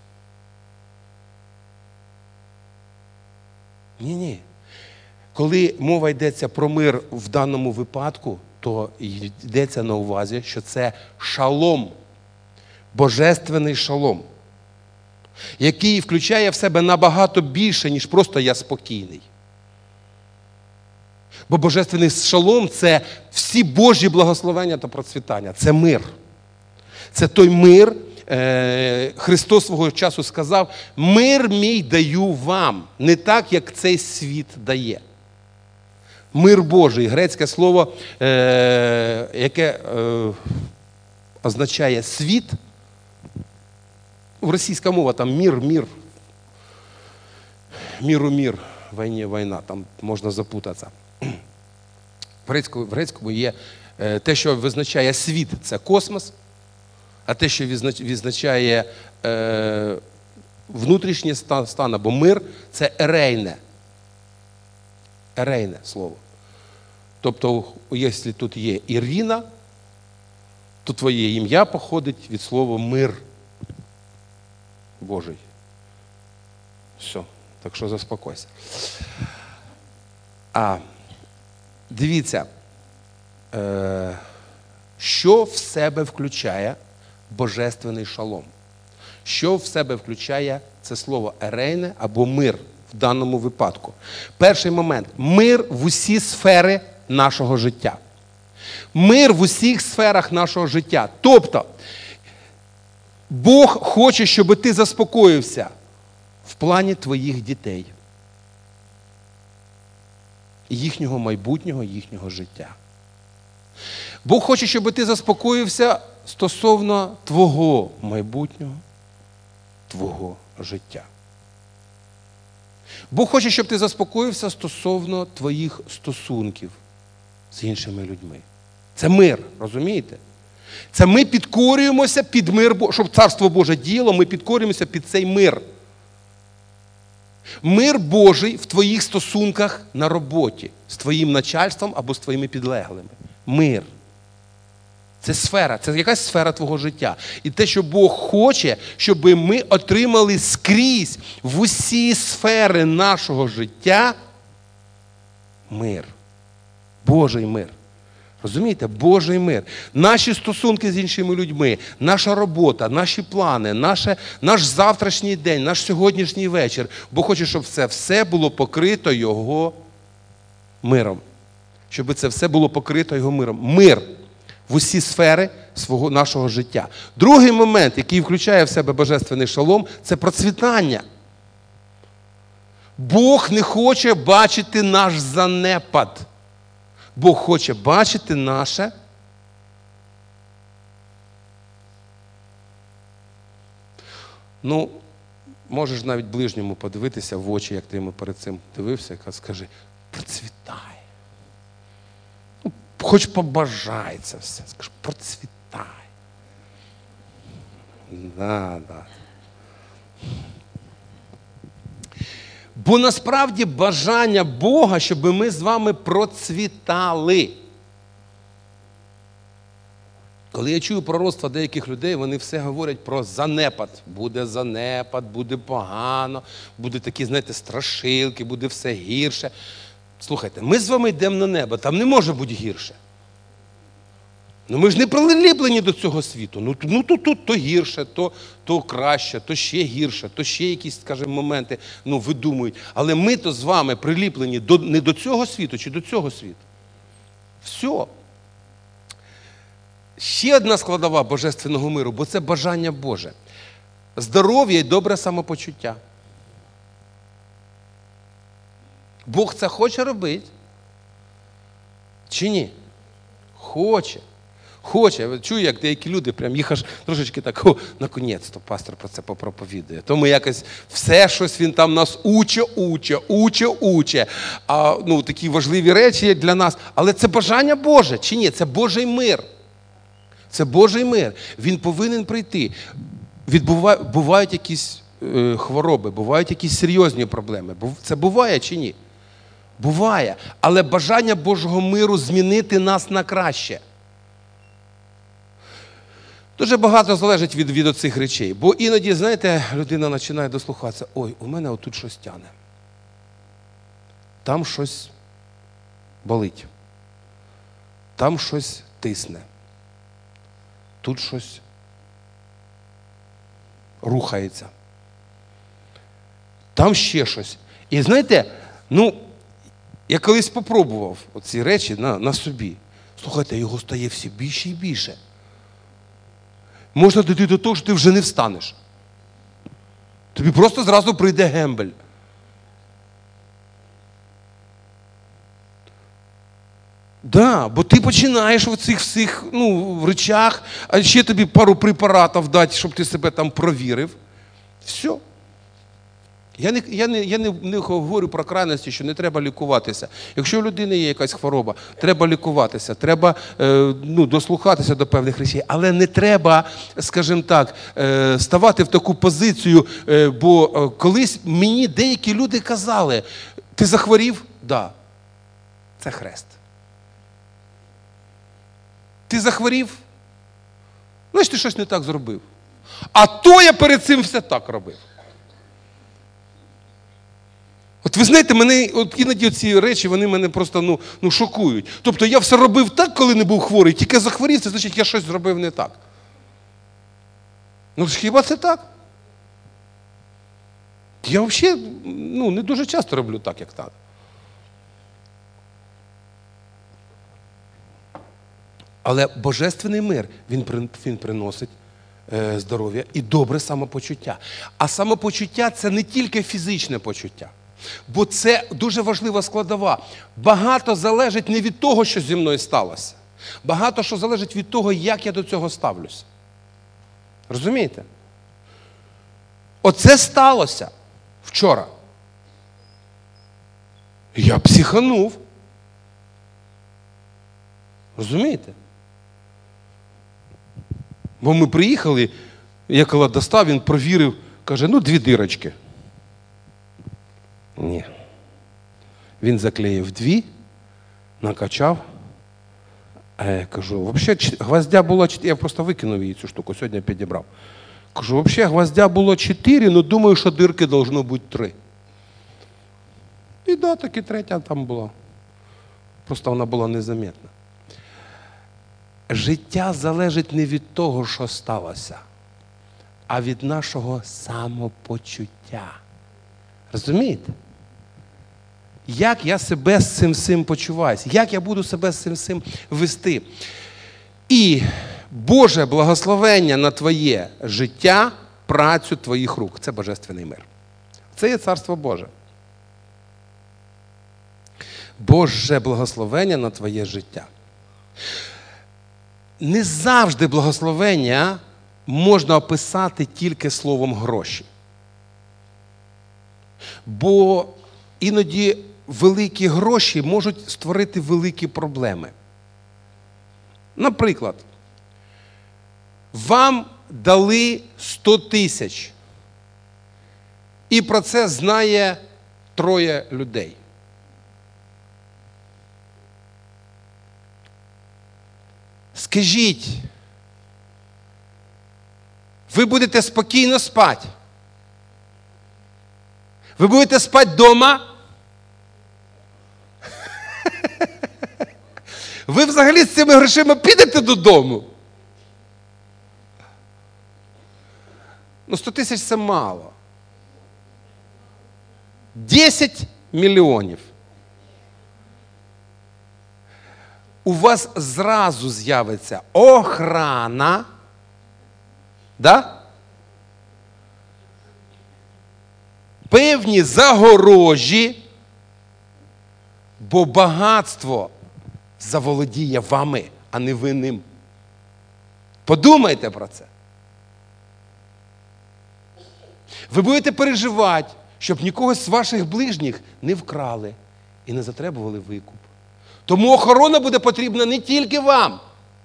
Ні-ні. Коли мова йдеться про мир в даному випадку, то йдеться на увазі, що це шалом, божественний шалом, який включає в себе набагато більше, ніж просто я спокійний. Бо божественний шалом – це всі Божі благословення та процвітання, це мир. Це той мир. Христос свого часу сказав: мир мій даю вам, не так, як цей світ дає. Мир Божий, грецьке слово, яке означає світ. Російська мова там мір, мір. Міру мір, війні, війна, там можна запутатися. В грецькому, в грецькому є те, що визначає світ – це космос, а те, що відзначає е, внутрішній стан, стан або мир – це ерейне. Ерейне слово. Тобто, якщо тут є Ірина, то твоє ім'я походить від слова мир Божий. Все. Так що заспокойся. А, дивіться, е, що в себе включає божественний шалом? Що в себе включає це слово ерейне або мир в даному випадку? Перший момент – мир в усі сфери нашого життя. Мир в усіх сферах нашого життя. Тобто, Бог хоче, щоб ти заспокоївся в плані твоїх дітей, їхнього майбутнього, їхнього життя. Бог хоче, щоб ти заспокоївся стосовно твого майбутнього, твого життя. Бог хоче, щоб ти заспокоївся стосовно твоїх стосунків з іншими людьми. Це мир, розумієте? Це ми підкорюємося під мир, щоб Царство Боже діяло, ми підкорюємося під цей мир. Мир Божий в твоїх стосунках на роботі, з твоїм начальством або з твоїми підлеглими. Мир. Це сфера, це якась сфера твого життя. І те, що Бог хоче, щоб ми отримали скрізь в усі сфери нашого життя мир. Божий мир. Розумієте? Божий мир. Наші стосунки з іншими людьми, наша робота, наші плани, наше, наш завтрашній день, наш сьогоднішній вечір. Бог хоче, щоб це все було покрито Його миром. Щоб це все було покрито Його миром. Мир в усі сфери свого, нашого життя. Другий момент, який включає в себе божественний шалом, це процвітання. Бог не хоче бачити наш занепад. Бог хоче бачити наше ну, можеш навіть ближньому подивитися в очі, як ти йому перед цим дивився, і скажи: процвітай. Ну, хоч побажай це все. Скажи: процвітай. Да, да. Бо насправді бажання Бога, щоб ми з вами процвітали. Коли я чую пророцтва деяких людей, вони все говорять про занепад. Буде занепад, буде погано, буде такі, знаєте, страшилки, буде все гірше. Слухайте, ми з вами йдемо на небо, там не може бути гірше. Ну ми ж не приліплені до цього світу. Ну, ну то тут то гірше, то, то краще, то ще гірше, то ще якісь, скажімо, моменти ну, видумують. Але ми то з вами приліплені до, не до цього світу чи до цього світу. Все. Ще одна складова божественного миру, бо це бажання Боже. Здоров'я і добре самопочуття. Бог це хоче робити? Чи ні? Хоче. Хоче. Я чую, як деякі люди, прям їх аж трошечки так: о, наконець-то пастор про це попроповідує. Тому якось все щось він там нас уче, уче, уче, уче. А, ну, такі важливі речі для нас. Але це бажання Боже, чи ні? Це Божий мир. Це Божий мир. Він повинен прийти. Відбува... Бувають якісь е, хвороби, бувають якісь серйозні проблеми. Це буває чи ні? Буває. Але бажання Божого миру змінити нас на краще. Дуже багато залежить від, від оцих речей. Бо іноді, знаєте, людина починає дослухатися: ой, у мене отут щось тяне. Там щось болить. Там щось тисне. Тут щось рухається. Там ще щось. І знаєте, ну, я колись попробував оці речі на, на собі. Слухайте, його стає все більше і більше. можна дійти до того, що ти вже не встанеш. Тобі просто зразу прийде гембель. Да, бо ти починаєш в цих всіх ну, речах, а ще тобі пару препаратів дати, щоб ти себе там провірив. Все. Я не, я не, я не, не говорю про крайності, що не треба лікуватися. Якщо у людини є якась хвороба, треба лікуватися, треба е, ну, дослухатися до певних речей, але не треба, скажімо так, е, ставати в таку позицію, е, бо е, колись мені деякі люди казали, ти захворів? Так. Да. Це хрест. Ти захворів? Значить, ти щось не так зробив. А то я перед цим все так робив. От ви знаєте, мене, от іноді ці речі, вони мене просто ну, ну, шокують. Тобто я все робив так, коли не був хворий, тільки захворів, це значить, я щось зробив не так. Ну, хіба це так? Я взагалі ну, не дуже часто роблю так, як так. Але божественний мир, він, він приносить е, здоров'я і добре самопочуття. А самопочуття – це не тільки фізичне почуття. Бо це дуже важлива складова. Багато залежить не від того, що зі мною сталося. Багато що залежить від того, як я до цього ставлюся. Розумієте? Оце сталося вчора. Я психанув. Розумієте? Бо ми приїхали, я коли достав, він провірив, каже, ну дві дирочки. Ні. Він заклеїв дві, накачав. А я кажу, взагалі гвоздя було чотири, я просто викинув її цю штуку, сьогодні підібрав. Кажу, взагалі гвоздя було чотири, але думаю, що дирки должно бути три. І да, таки третя там була. Просто вона була незаметна. Життя залежить не від того, що сталося, а від нашого самопочуття. Розумієте? Як я себе з цим всім почуваюся? Як я буду себе з цим всім вести? І Боже благословення на твоє життя, працю твоїх рук. Це божественний мир. Це є Царство Боже. Боже благословення на твоє життя. Не завжди благословення можна описати тільки словом гроші. Бо іноді великі гроші можуть створити великі проблеми. Наприклад, вам дали сто тисяч, і про це знає троє людей. Скажіть, ви будете спокійно спати? Ви будете спати вдома? Ви взагалі з цими грошима підете додому? Ну, сто тисяч – це мало. десять мільйонів. У вас зразу з'явиться охрана, да? Певні загорожі, бо багатство заволодіє вами, а не ви ним. Подумайте про це. Ви будете переживати, щоб нікого з ваших ближніх не вкрали і не затребували викуп. Тому охорона буде потрібна не тільки вам.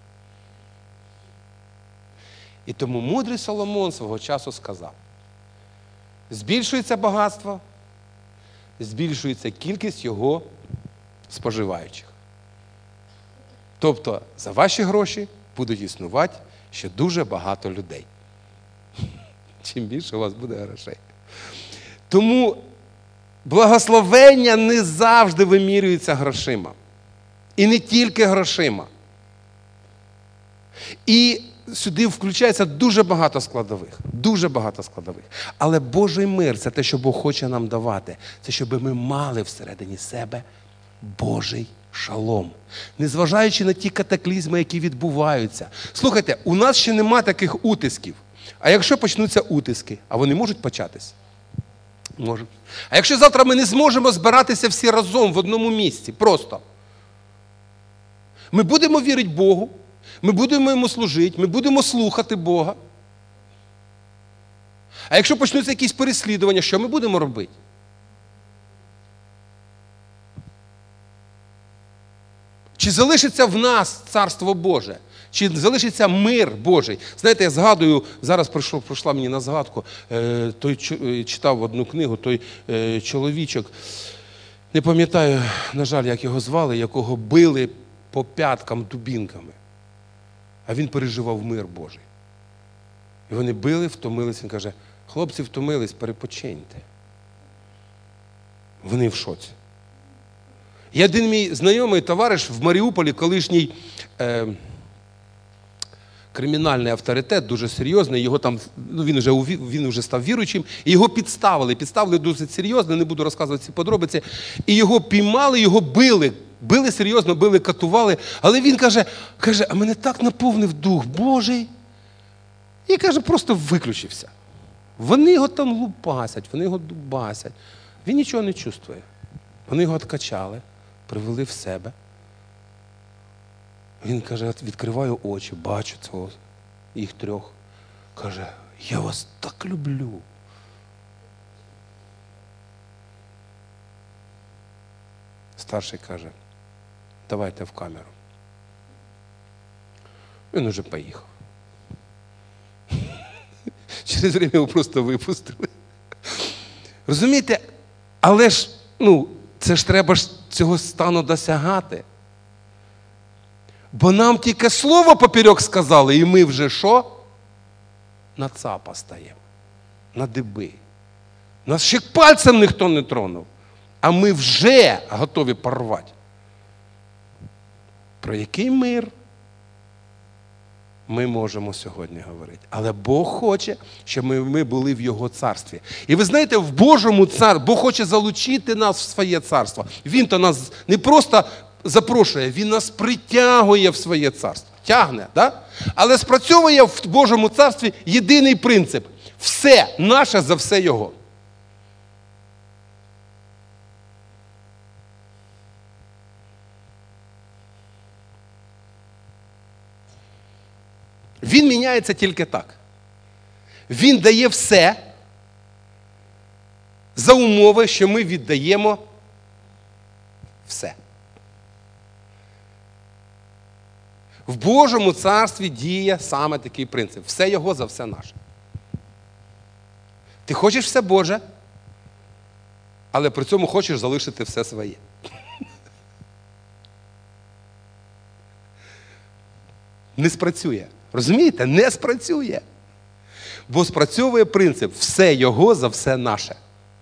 І тому мудрий Соломон свого часу сказав, збільшується багатство, збільшується кількість його споживаючих. Тобто за ваші гроші будуть існувати ще дуже багато людей. Чим більше у вас буде грошей. Тому благословення не завжди вимірюється грошима. І не тільки грошима. І сюди включається дуже багато складових. Дуже багато складових. Але Божий мир – це те, що Бог хоче нам давати. Це щоб ми мали всередині себе Божий шалом. Незважаючи на ті катаклізми, які відбуваються. Слухайте, у нас ще нема таких утисків. А якщо почнуться утиски, а вони можуть початись? Можуть. А якщо завтра ми не зможемо збиратися всі разом в одному місці, просто. Ми будемо вірити Богу, ми будемо Йому служити, ми будемо слухати Бога. А якщо почнуться якісь переслідування, що ми будемо робити? Чи залишиться в нас Царство Боже? Чи залишиться мир Божий? Знаєте, я згадую, зараз прийшов, прийшла мені на згадку, е, той читав одну книгу, той е, чоловічок, не пам'ятаю, на жаль, як його звали, якого били по п'яткам дубінками. А він переживав мир Божий. І вони били, втомились. Він каже, хлопці втомились, перепочиньте. Вони в шоці. Є один мій знайомий товариш в Маріуполі, колишній е, кримінальний авторитет, дуже серйозний, його там, ну, він, вже, він вже став віруючим, і його підставили, підставили досить серйозно, не буду розказувати ці подробиці, і його піймали, його били, били серйозно, били, катували, але він каже, каже, а мене так наповнив Дух Божий, і каже, просто виключився. Вони його там лупасять, вони його дубасять, він нічого не чувствує. Вони його откачали, привели в себе. Він каже, відкриваю очі, бачу цього, їх трьох. Каже, я вас так люблю. Старший каже, давайте в камеру. Він уже поїхав. Через время його просто випустили. Розумієте? Але ж, ну, це ж треба ж цього стану досягати. Бо нам тільки слово поперек сказали, і ми вже що? На цапа стаємо, на диби. Нас ще пальцем ніхто не тронув, а ми вже готові порвати. Про який мир ми можемо сьогодні говорити? Але Бог хоче, щоб ми, ми були в Його царстві. І ви знаєте, в Божому царстві, Бог хоче залучити нас в своє царство. Він то нас не просто запрошує, Він нас притягує в своє царство. Тягне, да? Але спрацьовує в Божому царстві єдиний принцип. Все наше за все Його. Він міняється тільки так. Він дає все за умови, що ми віддаємо все. В Божому царстві діє саме такий принцип. Все Його за все наше. Ти хочеш все Боже, але при цьому хочеш залишити все своє. Не спрацює. Розумієте? Не спрацює. Бо спрацьовує принцип «все Його за все наше».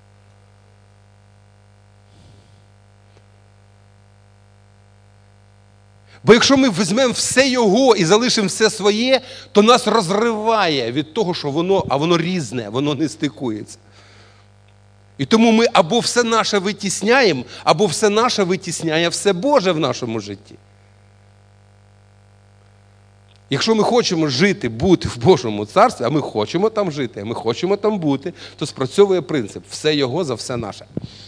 Бо якщо ми візьмемо все Його і залишимо все своє, то нас розриває від того, що воно, а воно різне, воно не стикується. І тому ми або все наше витісняємо, або все наше витісняє все Боже в нашому житті. Якщо ми хочемо жити, бути в Божому царстві, а ми хочемо там жити, а ми хочемо там бути, то спрацьовує принцип «все Його за все наше».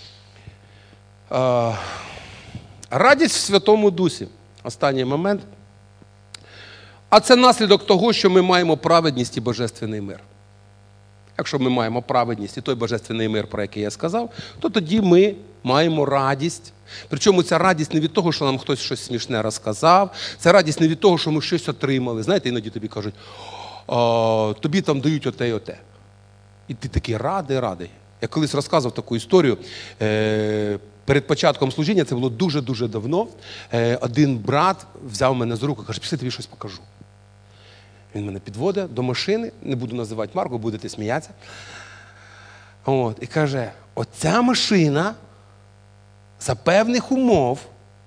А, радість в Святому Дусі. Останній момент. А це наслідок того, що ми маємо праведність і божественний мир. Якщо ми маємо праведність і той божественний мир, про який я сказав, то тоді ми маємо радість. Причому ця радість не від того, що нам хтось щось смішне розказав, це радість не від того, що ми щось отримали. Знаєте, іноді тобі кажуть, тобі там дають оте і оте. І ти такий радий, радий. Я колись розказував таку історію, перед початком служіння, це було дуже-дуже давно, один брат взяв мене за руку і каже, пішли, тобі щось покажу. Він мене підводить до машини, не буду називати марку, будете сміятися. От, і каже, оця машина за певних умов,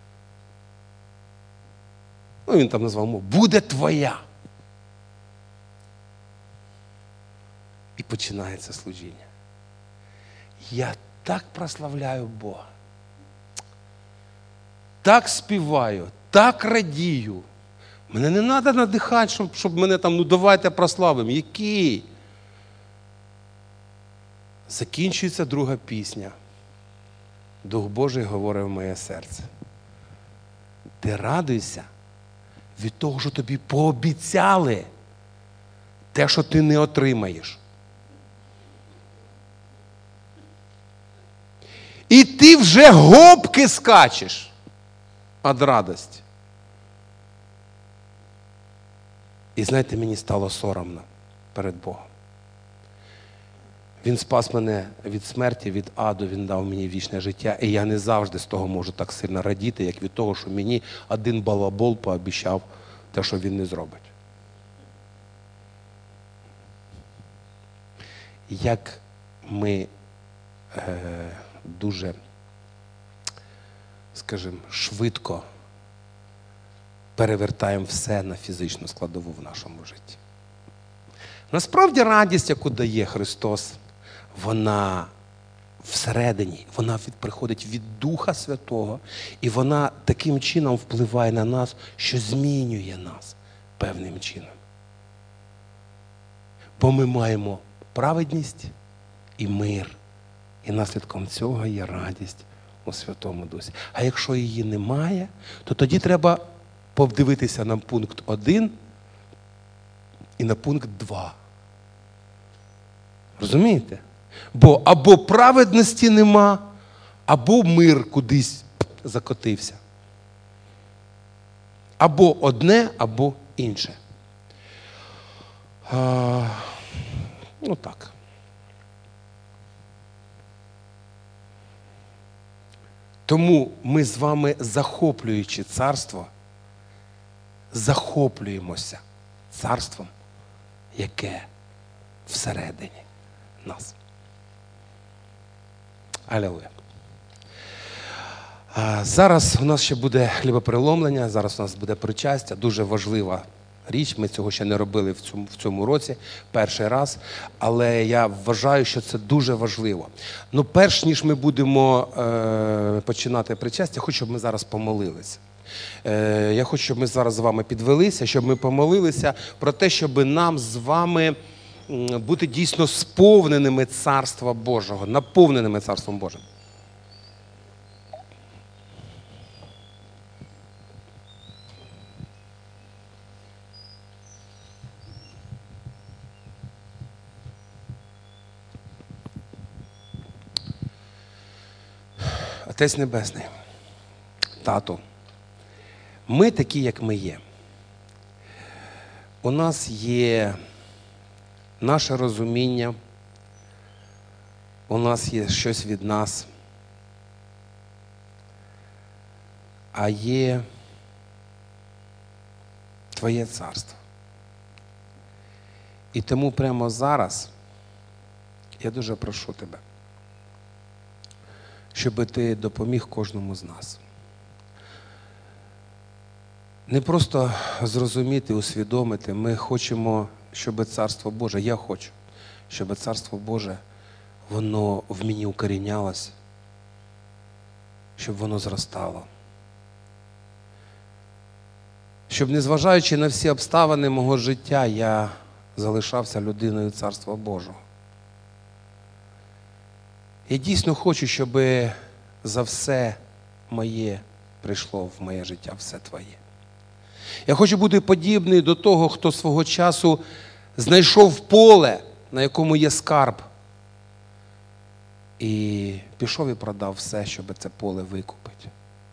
ну він там назвав умов, буде твоя. І починається служіння. Я так прославляю Бога. так співаю, так радію. Мене не треба надихати, щоб, щоб мене там, ну давайте прославимо. Який? Закінчується друга пісня. Дух Божий говорить в моє серце. Ти радуйся від того, що тобі пообіцяли те, що ти не отримаєш. І ти вже гопки скачеш від радості. І знаєте, мені стало соромно перед Богом. Він спас мене від смерті, від аду, Він дав мені вічне життя. І я не завжди з того можу так сильно радіти, як від того, що мені один балабол пообіцяв те, що він не зробить. Як ми е, дуже, скажімо, швидко перевертаємо все на фізичну складову в нашому житті. Насправді радість, яку дає Христос, вона всередині, вона від, приходить від Духа Святого, і вона таким чином впливає на нас, що змінює нас певним чином. Бо ми маємо праведність і мир, і наслідком цього є радість у Святому Дусі. А якщо її немає, то тоді треба подивитися на пункт один і на пункт два. Розумієте? Бо або праведності нема, або мир кудись закотився. Або одне, або інше. А, ну так. Тому ми з вами, захоплюючи царство, захоплюємося царством, яке всередині нас. Алілуя. Зараз у нас ще буде хлібопереломлення, зараз у нас буде причастя, дуже важлива річ, ми цього ще не робили в цьому, в цьому році, перший раз, але я вважаю, що це дуже важливо. Ну, перш ніж ми будемо е, починати причастя, хочу, щоб ми зараз помолилися. Е, я хочу, щоб ми зараз з вами підвелися, щоб ми помолилися про те, щоб нам з вами бути дійсно сповненими Царства Божого, наповненими Царством Божим. Отець Небесний, Тату, ми такі, як ми є. У нас є наше розуміння, у нас є щось від нас, а є Твоє царство. І тому прямо зараз я дуже прошу Тебе, щоб Ти допоміг кожному з нас. Не просто зрозуміти, усвідомити, ми хочемо, щоб Царство Боже, я хочу, щоб Царство Боже, воно в мені укорінялось, щоб воно зростало. Щоб, незважаючи на всі обставини мого життя, я залишався людиною Царства Божого. Я дійсно хочу, щоб за все моє прийшло в моє життя, все Твоє. Я хочу бути подібний до того, хто свого часу знайшов поле, на якому є скарб, і пішов і продав все, щоб це поле викупити.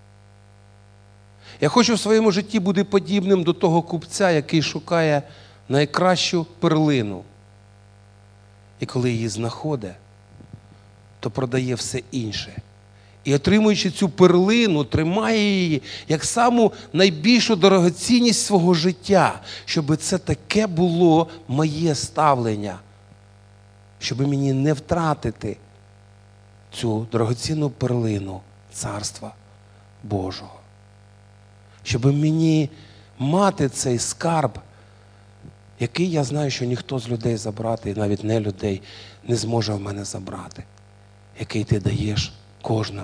Я хочу в своєму житті бути подібним до того купця, який шукає найкращу перлину. І коли її знаходить, то продає все інше. І отримуючи цю перлину, тримає її як саму найбільшу дорогоцінність свого життя, щоб це таке було моє ставлення, щоб мені не втратити цю дорогоцінну перлину Царства Божого. Щоб мені мати цей скарб, який я знаю, що ніхто з людей забрати, і навіть не людей, не зможе в мене забрати, який ти даєш кожному.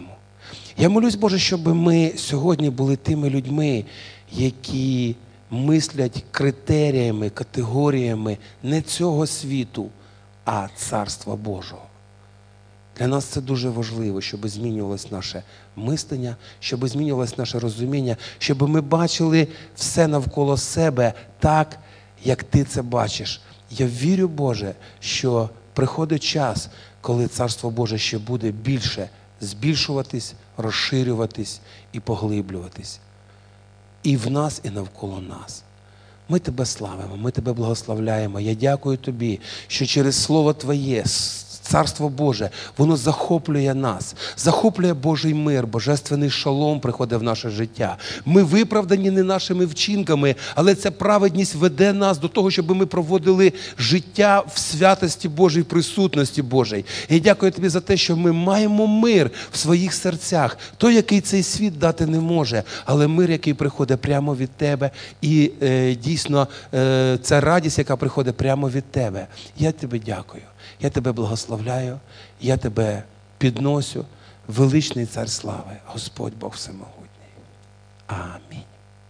Я молюсь, Боже, щоб ми сьогодні були тими людьми, які мислять критеріями, категоріями не цього світу, а Царства Божого. Для нас це дуже важливо, щоб змінювалось наше мислення, щоб змінювалось наше розуміння, щоб ми бачили все навколо себе так, як Ти це бачиш. Я вірю, Боже, що приходить час, коли Царство Боже ще буде більше збільшуватись, розширюватись і поглиблюватись. І в нас, і навколо нас. Ми Тебе славимо, ми Тебе благословляємо. Я дякую Тобі, що через Слово Твоє, Царство Боже, воно захоплює нас, захоплює Божий мир, божественний шалом приходить в наше життя. Ми виправдані не нашими вчинками, але ця праведність веде нас до того, щоб ми проводили життя в святості Божій, присутності Божій. Я дякую Тобі за те, що ми маємо мир в своїх серцях, той, який цей світ дати не може, але мир, який приходить прямо від Тебе, і е, дійсно е, ця радість, яка приходить прямо від Тебе. Я Тобі дякую. Я Тебе благословляю, я Тебе підносю, величний Цар слави, Господь Бог Всемогутній. Амінь.